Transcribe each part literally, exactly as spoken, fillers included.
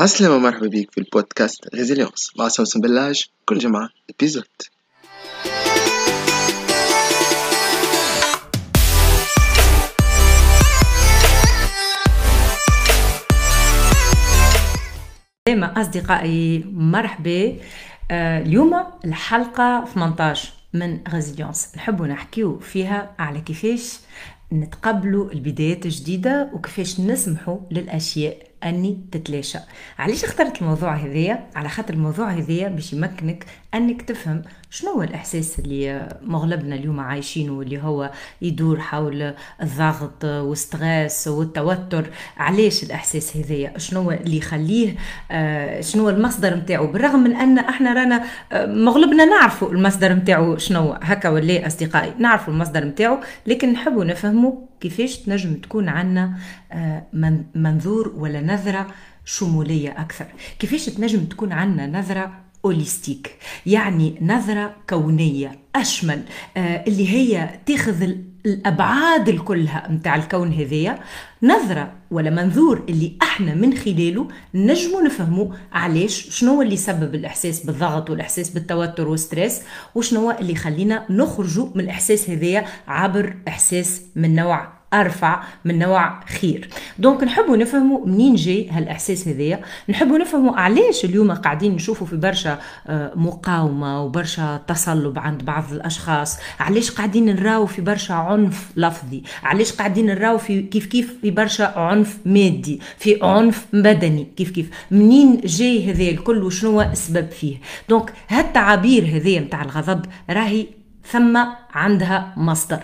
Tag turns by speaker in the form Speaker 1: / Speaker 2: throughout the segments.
Speaker 1: عسلامة، مرحبا بيك في البودكاست ريزيليونس مع سوسن بلاج. كل جمعة إبيزود.
Speaker 2: دائما أصدقائي مرحبا. آه اليوم الحلقة ثمانية عشر من ريزيليونس، نحب نحكيو فيها على كيفاش نتقبلوا البدايات الجديدة وكيفاش نسمحوا للأشياء أني تتلاشى. علاش اخترت الموضوع هذايا؟ على خاطر الموضوع هذايا باش يمكنك أنك تفهم شنو هو الإحساس اللي مغلبنا اليوم عايشينه، اللي هو يدور حول الضغط والستريس والتوتر. علاش الإحساس هذايا؟ شنو اللي يخليه؟ آه شنو المصدر متاعه؟ بالرغم من أن احنا رانا آه مغلبنا نعرفوا المصدر متاعه شنو، هكا ولا أصدقائي نعرفوا المصدر متاعه، لكن نحبوا نفهموا كيفاش تنجم تكون عنا آه منظور ولا نظرة شمولية أكثر، كيفاش تنجم تكون عنا نظرة أوليستيك، يعني نظرة كونية أشمل، آه اللي هي تاخذ الأبعاد الكلها متاع الكون هذية، نظرة ولا منظور اللي احنا من خلاله نجمو نفهمو علاش شنو اللي سبب الإحساس بالضغط والإحساس بالتوتر والستريس، وشنو اللي خلينا نخرجوا من الإحساس هذية عبر إحساس من نوع أرفع، من نوع خير. دونك نحبوا نفهموا منين جاي هالإحساس هذايا، نحبوا نفهموا علاش اليوم قاعدين نشوفوا في برشا مقاومة وبرشا تصلب عند بعض الأشخاص، علاش قاعدين نراو في برشا عنف لفظي، علاش قاعدين نراو في كيف كيف في برشا عنف مادي، في عنف بدني، كيف كيف منين جاي هذا الكل وشنو السبب فيه. دونك هالتعابير هذه متاع الغضب راهي ثم عندها مصدر،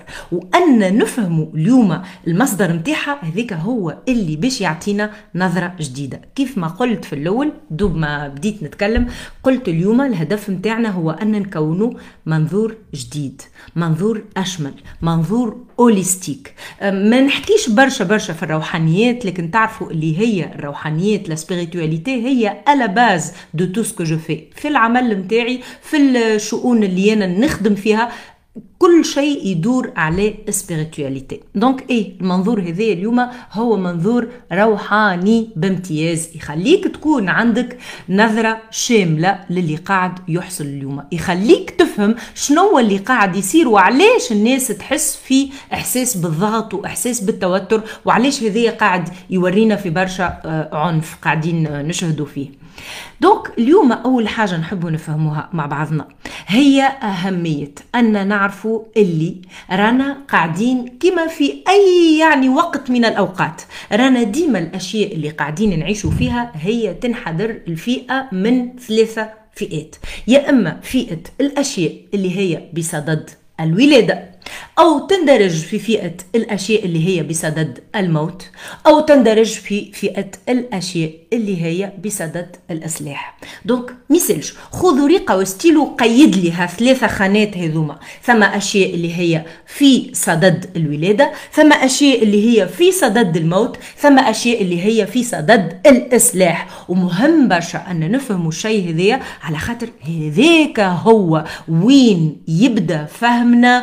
Speaker 2: وأن نفهموا اليوم المصدر متاعها هذيك هو اللي باش يعطينا نظرة جديدة. كيف ما قلت في الأول دوب ما بديت نتكلم، قلت اليوم الهدف متاعنا هو أن نكونوا منظور جديد، منظور أشمل، منظور أوليستيك. ما نحكيش برشا برشا في الروحانيات، لكن تعرفوا اللي هي الروحانيات، لا سبيريتواليتي هي على باز دو تو سكو جو في في العمل متاعي، في الشؤون اللي أنا نخدم فيها، كل شيء يدور على سبيريتواليتي. دونك ايه المنظور هذا اليوم هو منظور روحاني بامتياز، يخليك تكون عندك نظرة شاملة للي قاعد يحصل اليوم، يخليك تفهم شنو اللي قاعد يصير وعلاش الناس تحس في احساس بالضغط واحساس بالتوتر، وعلاش هذا قاعد يورينا في برشا عنف قاعدين نشهدوا فيه. دونك اليوم أول حاجة نحبوا نفهموها مع بعضنا هي أهمية أن نعرفوا اللي رانا قاعدين كما في أي يعني وقت من الأوقات، رانا ديما الأشياء اللي قاعدين نعيشوا فيها هي تنحدر الفئة من ثلاثة فئات، يا إما فئة الأشياء اللي هي بصدد الولادة، أو تندرج في فئة الأشياء اللي هي بصدد الموت، أو تندرج في فئة الأشياء اللي هي بصدد الإصلاح. دونك ميسالش خذوا ريقة وستيلو قيد لها ثلاثة خانات هذوما، ثم أشياء اللي هي في صدد الولادة، ثم أشياء اللي هي في صدد الموت، ثم أشياء اللي هي في صدد الإصلاح. ومهم برشا أن نفهموا الشيء هذا، على خاطر هذاك هو وين يبدأ فهمنا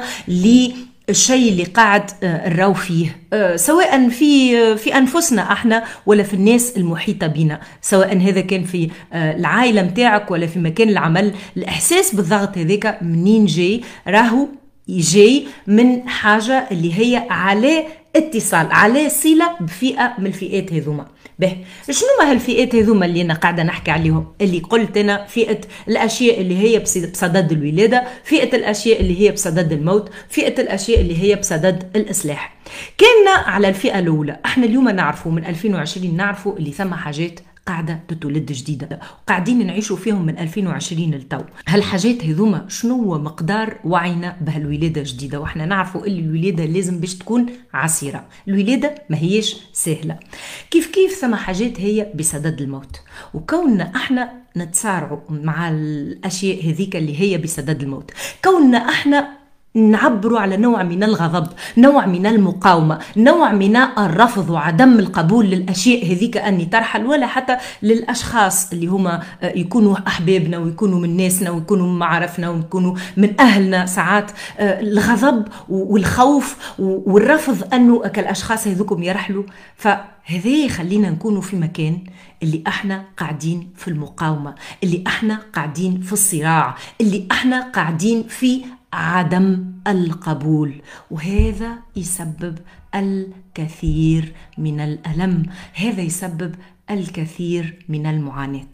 Speaker 2: الشيء اللي قاعد نراو فيه، سواء في في انفسنا احنا ولا في الناس المحيطه بنا، سواء هذا كان في العائله متاعك ولا في مكان العمل. الاحساس بالضغط هذاك منين جاي؟ راهو جاي من حاجه اللي هي على اتصال، على صله بفئه من الفئات هذوما. به شنو ما هالفئات هذوما اللي انا قاعده نحكي عليهم؟ اللي قلت انا فئه الاشياء اللي هي بصدد الولاده، فئه الاشياء اللي هي بصدد الموت، فئه الاشياء اللي هي بصدد الاصلاح. كنا على الفئه الاولى، احنا اليوم نعرفوا من ألفين وعشرين نعرفوا اللي ثم حاجات قاعدة تتولد جديدة وقاعدين نعيشوا فيهم من ألفين وعشرين للتو. هالحاجات هذوما شنو هو مقدار وعينا بهالولادة جديدة؟ واحنا نعرفوا اللي الولادة لازم باش تكون عسيرة، الولادة ما هيش سهلة. كيف كيف ثم حاجات هي بصدد الموت، وكوننا احنا نتسارعوا مع الأشياء هذيك اللي هي بصدد الموت، كوننا احنا نعبروا على نوع من الغضب، نوع من المقاومة، نوع من الرفض وعدم القبول للأشياء هذيك أني ترحل، ولا حتى للأشخاص اللي هما يكونوا أحبابنا ويكونوا من ناسنا ويكونوا من معرفنا ويكونوا من أهلنا. ساعات الغضب والخوف والرفض أنه كالأشخاص هذوكم يرحلوا. فهذا يخلينا نكونوا في مكان اللي احنا قاعدين في المقاومة، اللي احنا قاعدين في الصراع، اللي احنا قاعدين في عدم القبول، وهذا يسبب الكثير من الألم، هذا يسبب الكثير من المعاناة.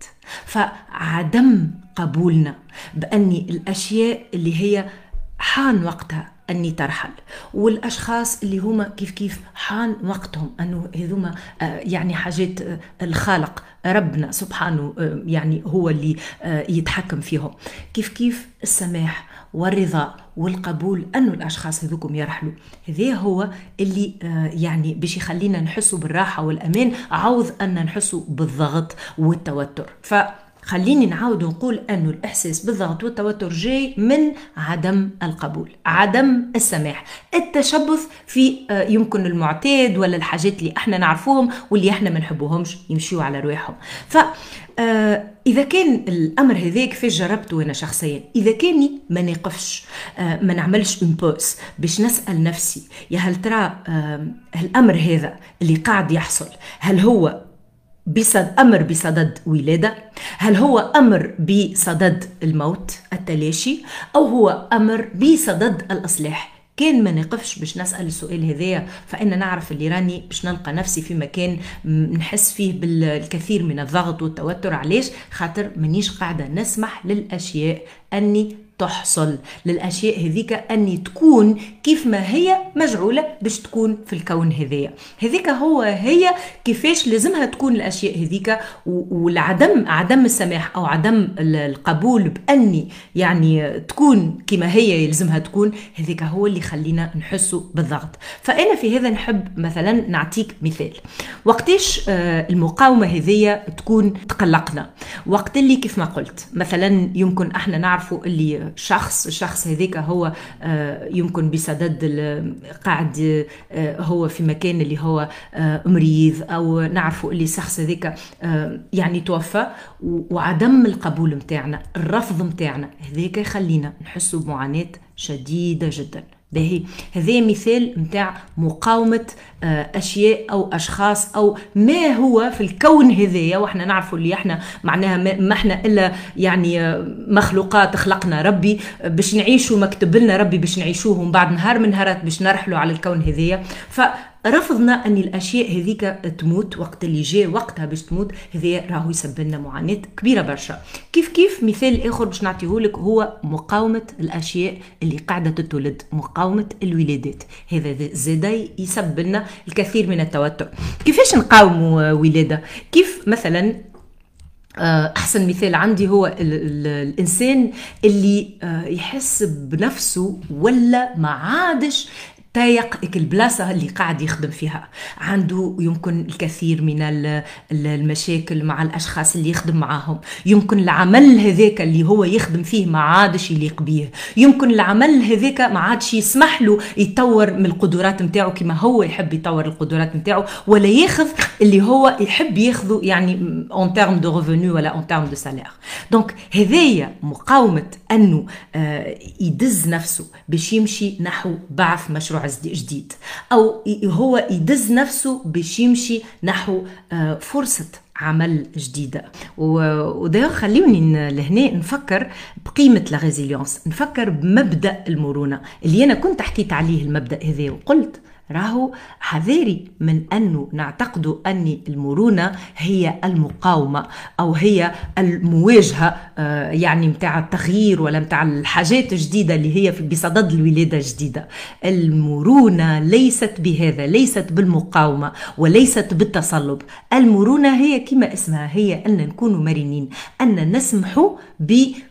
Speaker 2: فعدم قبولنا بأني الأشياء اللي هي حان وقتها أني ترحل، والأشخاص اللي هما كيف كيف حان وقتهم أنه هذوما يعني حاجات الخالق ربنا سبحانه يعني هو اللي يتحكم فيهم، كيف كيف السماح والرضا والقبول أنه الأشخاص هذوكم يرحلوا. هذا هو اللي يعني باش يخلينا نحسوا بالراحة والأمان عوض أن نحسوا بالضغط والتوتر. ف خليني نعاود نقول أنه الإحساس بالضغط والتوتر جاي من عدم القبول، عدم السماح، التشبث في يمكن المعتاد ولا الحاجات اللي احنا نعرفوهم واللي احنا ما نحبوهمش يمشيوا على رواحهم. ف إذا كان الأمر هذاك في جربته أنا شخصيا، إذا كاني ما نقفش ما نعملش امبوس باش نسأل نفسي يا هل ترى الأمر هذا اللي قاعد يحصل هل هو بصد أمر بصدد ولادة، هل هو أمر بصدد الموت التلاشي، أو هو أمر بصدد الإصلاح؟ كان ما نقفش باش نسأل السؤال هذايا فإن نعرف اللي راني باش نلقى نفسي في مكان نحس فيه بالكثير من الضغط والتوتر. علاش؟ خاطر منيش قاعدة نسمح للأشياء أني تحصل، للأشياء هذيك أني تكون كيف ما هي مجعولة باش تكون في الكون هذية. هذيك هو هي كيفاش لازمها تكون الأشياء هذيك، والعدم عدم السماح أو عدم القبول بأني يعني تكون كما هي يلزمها تكون، هذيك هو اللي خلينا نحسوا بالضغط. فأنا في هذا نحب مثلا نعطيك مثال وقتاش المقاومة هذية تكون تقلقنا، وقت اللي كيف ما قلت مثلا يمكن احنا نعرفوا اللي شخص الشخص هذيك هو يمكن بصدد قاعد هو في مكان اللي هو مريض، او نعرفوا اللي الشخص هذيك يعني توفى، وعدم القبول متاعنا الرفض متاعنا هذيك يخلينا نحسوا بمعاناة شديدة جدا. باهي هذا مثال متاع مقاومة أشياء أو أشخاص أو ما هو في الكون هذايا، وإحنا نعرفوا اللي إحنا معناها ما إحنا إلا يعني مخلوقات خلقنا ربي باش نعيشوا مكتب لنا ربي باش نعيشوهم بعد نهار من نهارات باش نرحلوا على الكون هذايا. فرفضنا أن الأشياء هذيك تموت وقت اللي جاء وقتها باش تموت، هذا راهو يسبب لنا معاناة كبيرة برشا. كيف كيف مثال آخر باش نعطيهولك هو مقاومة الأشياء اللي قاعدة تتولد، مقاومة الولادات، هذا زادا يسبب لنا الكثير من التوتر. كيفاش نقاوموا ولادة؟ كيف مثلا أحسن مثال عندي هو ال ال الإنسان اللي يحس بنفسه ولا ما عادش تايق البلاصة اللي قاعد يخدم فيها، عنده يمكن الكثير من المشاكل مع الأشخاص اللي يخدم معاهم، يمكن العمل هذاك اللي هو يخدم فيه ما عادش يليق بيه، يمكن العمل هذاك ما عادش يسمح له يطور من القدرات متاعه كما هو يحب يطور القدرات متاعه، ولا ياخذ اللي هو يحب ياخذه يعني en termes de revenus ولا en termes de salaire. دونك هذايا مقاومة أنه يدز نفسه باش يمشي نحو بعث مشروع جديد، أو هو يدز نفسه باش يمشي نحو فرصة عمل جديدة. وده خليوني لهنا نفكر بقيمة لا ريزيليونس، نفكر بمبدأ المرونة اللي أنا كنت حكيت عليه المبدأ هذا، وقلت راهو حذاري من أنه نعتقد أن المرونة هي المقاومة أو هي المواجهة يعني متاع التغيير ولا متاع الحاجات الجديدة اللي هي بصدد الولادة الجديدة. المرونة ليست بهذا، ليست بالمقاومة وليست بالتصلب. المرونة هي كما اسمها، هي أن نكون مرنين، أن نسمح ب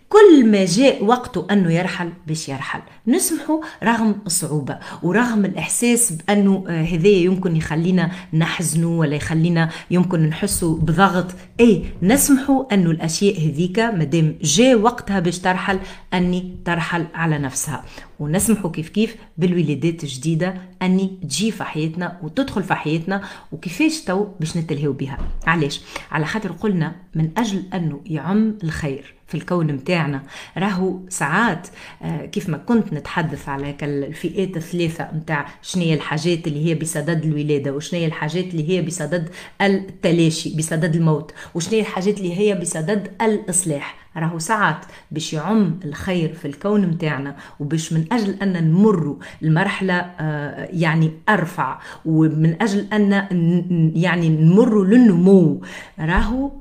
Speaker 2: كل ما جاء وقته أنه يرحل باش يرحل، نسمحه رغم الصعوبة ورغم الإحساس بأنه هذا يمكن يخلينا نحزنوا ولا يخلينا يمكن نحسوا بضغط. أي نسمحه أنه الأشياء هذيك مدام جاء وقتها باش ترحل أني ترحل على نفسها، ونسمحه كيف كيف بالولادات الجديدة أني تجي في حياتنا وتدخل في حياتنا، وكيفاش تو باش نتلهوا بها. علاش؟ على خاطر قلنا من أجل أنه يعم الخير في الكون متاعنا. راهو ساعات كيف ما كنت نتحدث على الفئات الثلاثة متاع شنية الحاجات اللي هي بصدد الولادة، وشنية الحاجات اللي هي بصدد التلاشي بصدد الموت، وشنية الحاجات اللي هي بصدد الإصلاح. راهو ساعات باش يعم الخير في الكون متاعنا وباش من أجل أن نمر المرحلة يعني أرفع، ومن أجل أن يعني نمر للنمو، راهو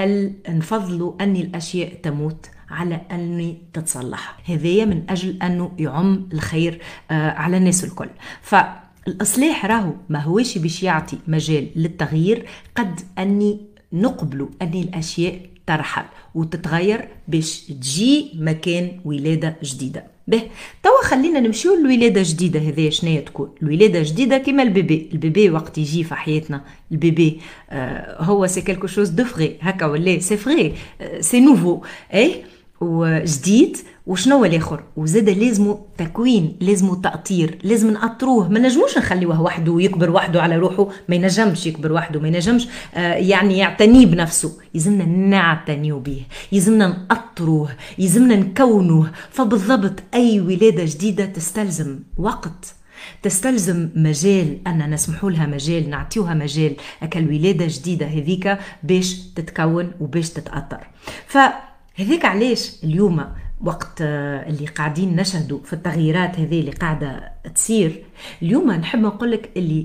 Speaker 2: نفضلوا أن الأشياء تموت على أن تتصلح. هذا من أجل أنه يعم الخير على الناس الكل. فالإصلاح راهو ما هوش باش يعطي مجال للتغيير قد أني نقبلوا أن الأشياء ترحل وتتغير باش تجي مكان ولادة جديدة. به توا خلينا نمشيو للولادة جديدة. هذه شنية تكون الولادة جديدة؟ كما البيبي. البيبي وقت يجي في حياتنا البيبي آه هو سي كالكو شوز دو فغي هكا ولا سي فغي آه سي نوفو اي وجديد. وشنو الاخر؟ وزاد لازمه تكوين، لازمه تأطير، لازم نأطروه. ما نجموش نخليوه وحده ويكبر وحده على روحه، ما ينجمش يكبر وحده، ما ينجمش آه يعني يعتني بنفسه. يلزمنا نعتنيو به، يلزمنا نأطروه، يلزمنا نكونوه. فبالضبط أي ولادة جديدة تستلزم وقت، تستلزم مجال أن نسمحوا لها مجال، نعطيوها مجال أكل ولادة جديدة هذيك باش تتكون وباش تتأطر. فهذيك علاش اليوم وقت اللي قاعدين نشهدوا في التغييرات هذه اللي قاعدة تصير اليوم، نحب نقولك اللي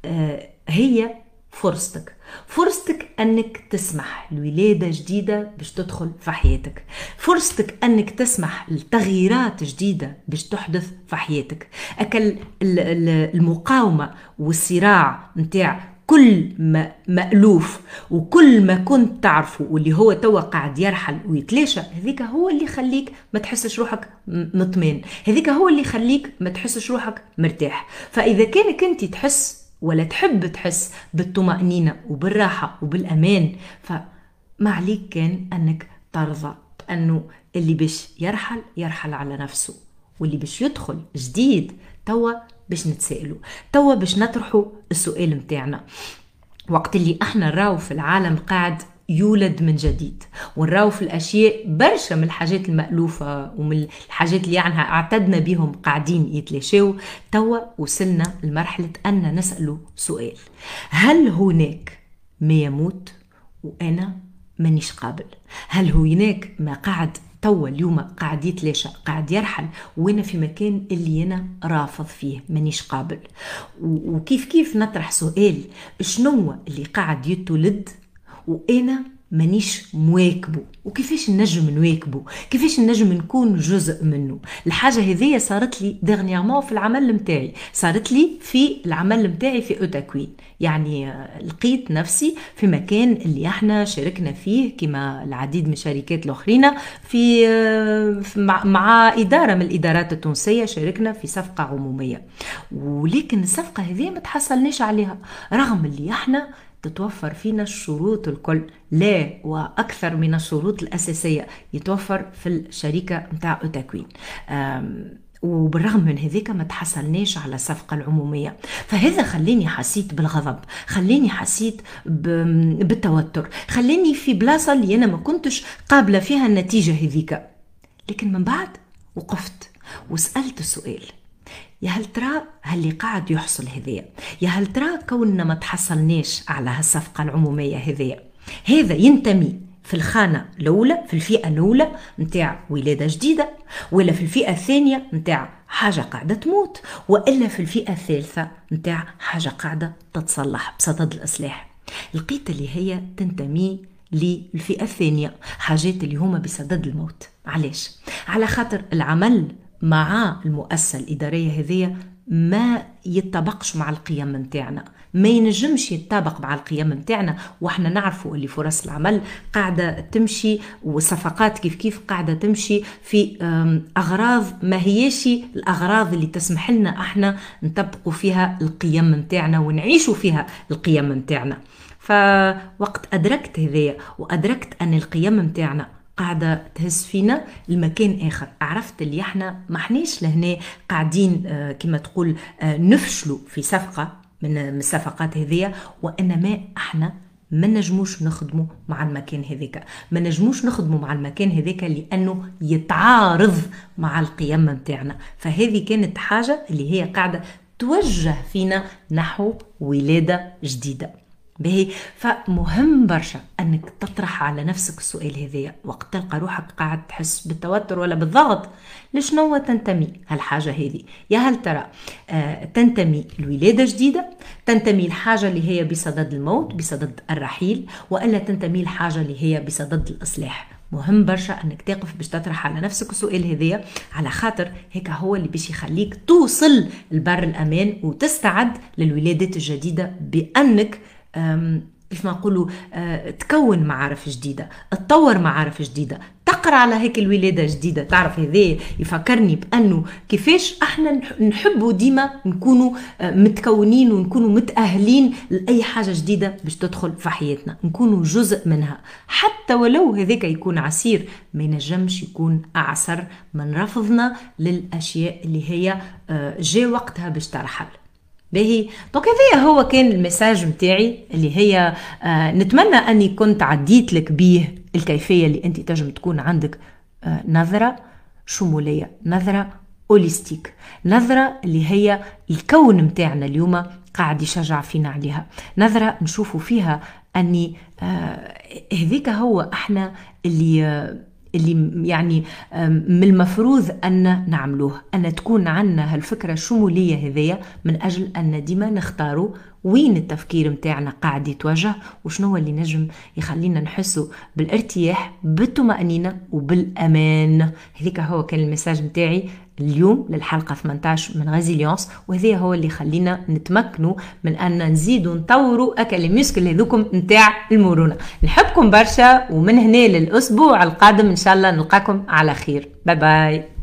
Speaker 2: هي فرصتك، فرصتك أنك تسمح لولادة جديدة باش تدخل في حياتك، فرصتك أنك تسمح لتغييرات جديدة باش تحدث في حياتك. أكل المقاومة والصراع متاع كل ما مألوف وكل ما كنت تعرفه واللي هو توا قاعد يرحل ويتلاشى، هذيك هو اللي يخليك ما تحسش روحك مطمئن، هذيك هو اللي يخليك ما تحسش روحك مرتاح. فإذا كانك أنت تحس ولا تحب تحس بالطمأنينة وبالراحة وبالأمان، فما عليك كان أنك ترضى أنه اللي باش يرحل يرحل على نفسه، واللي باش يدخل جديد توا باش نتسائلوا، توا باش نطرحوا السؤال متاعنا. وقت اللي احنا نراو في العالم قاعد يولد من جديد، ونراو في الأشياء برشا من الحاجات المألوفة ومن الحاجات اللي عنها اعتدنا بهم قاعدين يتلاشوا، توا وصلنا لمرحلة أن نسألوا سؤال: هل هناك ما يموت وأنا مانيش قابل؟ هل هناك ما قاعد توا اليوم قاعد يتلاشى قاعد يرحل وانا في مكان اللي انا رافض فيه مانيش قابل؟ وكيف كيف نطرح سؤال: شنو اللي قاعد يتولد وانا مانيش مواكبه، وكيفاش نجم نواكبه، كيفاش نجم نكون جزء منه؟ الحاجه هذه صارت لي دغنيامون في العمل متاعي، صارت لي في العمل متاعي في أوتاكوين. يعني لقيت نفسي في مكان اللي احنا شاركنا فيه كما العديد من الشركات الاخرين في مع اداره من الادارات التونسيه، شاركنا في صفقه عموميه، ولكن الصفقه هذه ما تحصلناش عليها رغم اللي احنا تتوفر فينا الشروط الكل، لا وأكثر من الشروط الأساسية يتوفر في الشركة متاع أوتاكوين. وبالرغم من هذيك ما تحصلناش على الصفقة العمومية. فهذا خليني حسيت بالغضب، خليني حسيت بالتوتر، خليني في بلاصة اللي أنا ما كنتش قابلة فيها النتيجة هذيك. لكن من بعد وقفت وسألت السؤال: يا هل ترى هاللي قاعد يحصل هذيا، يا هل ترى كوننا ما تحصلناش على هالصفقة العمومية هذيا، هذا ينتمي في الخانة الأولى في الفئة الأولى متاع ولادة جديدة، ولا في الفئة الثانية متاع حاجة قاعدة تموت، وإلا في الفئة الثالثة متاع حاجة قاعدة تتصلح بصدد الإصلاح؟ لقيت اللي هي تنتمي للفئة الثانية، حاجات اللي هما بصدد الموت. علاش؟ على خاطر العمل مع المؤسسة الإدارية هذه ما يتطبقش مع القيم متاعنا، ما ينجمش يتطابق مع القيم متاعنا، واحنا نعرفوا اللي فرص العمل قاعدة تمشي والصفقات كيف كيف قاعدة تمشي في أغراض ما هيش الأغراض اللي تسمح لنا احنا نطبقوا فيها القيم متاعنا ونعيشوا فيها القيم متاعنا. فوقت أدركت هذية وأدركت أن القيم متاعنا قاعدة تهز فينا المكان آخر، عرفت اللي احنا ما احناش لهنا قاعدين اه كما تقول اه نفشلوا في صفقة من الصفقات هذية، وإنما احنا ما نجموش نخدموا مع المكان هذيك، ما نجموش نخدموا مع المكان هذيك لأنه يتعارض مع القيم متاعنا. فهذه كانت حاجة اللي هي قاعدة توجه فينا نحو ولادة جديدة. باهي، فمهم برشا أنك تطرح على نفسك السؤال هذايا وقت تلقى روحك قاعد تحس بالتوتر ولا بالضغط. لشنو تنتمي هالحاجة هذه؟ يا هل ترى آه تنتمي لولادة جديدة، تنتمي الحاجة اللي هي بصدد الموت بصدد الرحيل، وإلا تنتمي الحاجة اللي هي بصدد الإصلاح؟ مهم برشا أنك تقف باش تطرح على نفسك السؤال هذايا، على خاطر هيك هو اللي باش يخليك توصل البر الأمان وتستعد للولادات الجديدة بأنك كيف ما نقولوا تكون معارف جديدة، تطور معارف جديدة، تقرأ على هيك الولادة جديدة. تعرف هذا يفكرني بأنه كيفاش احنا نحبوا ديما نكونوا متكونين ونكونوا متأهلين لأي حاجة جديدة باش تدخل في حياتنا، نكونوا جزء منها حتى ولو هذاك يكون عسير، ما ينجمش يكون أعسر من رفضنا للأشياء اللي هي جاء وقتها باش ترحل. باهي، دونك هذا هو كان المساج متاعي اللي هي آه نتمنى أني كنت عديت لك بيه الكيفية اللي أنت تجم تكون عندك آه نظرة شمولية، نظرة أوليستيك، نظرة اللي هي الكون متاعنا اليوم قاعد يشجع فينا عليها، نظرة نشوفوا فيها أني آه هذيك هو احنا اللي آه اللي يعني من المفروض أن نعملوه، أن تكون عنا هالفكرة الشمولية هذية من أجل أن ديما نختاروا وين التفكير متاعنا قاعد يتوجه، وشنو اللي نجم يخلينا نحسوا بالارتياح بالطمأنينة وبالأمان. هذيك هو كان المساج متاعي اليوم للحلقة ثمانية عشر من غازيليونس، وهذا هو اللي خلينا نتمكنوا من أن نزيدوا نطوروا أكل الميسكل هذوكم متاع المرونة. نحبكم برشا، ومن هنا للأسبوع القادم إن شاء الله نلقاكم على خير. باي باي.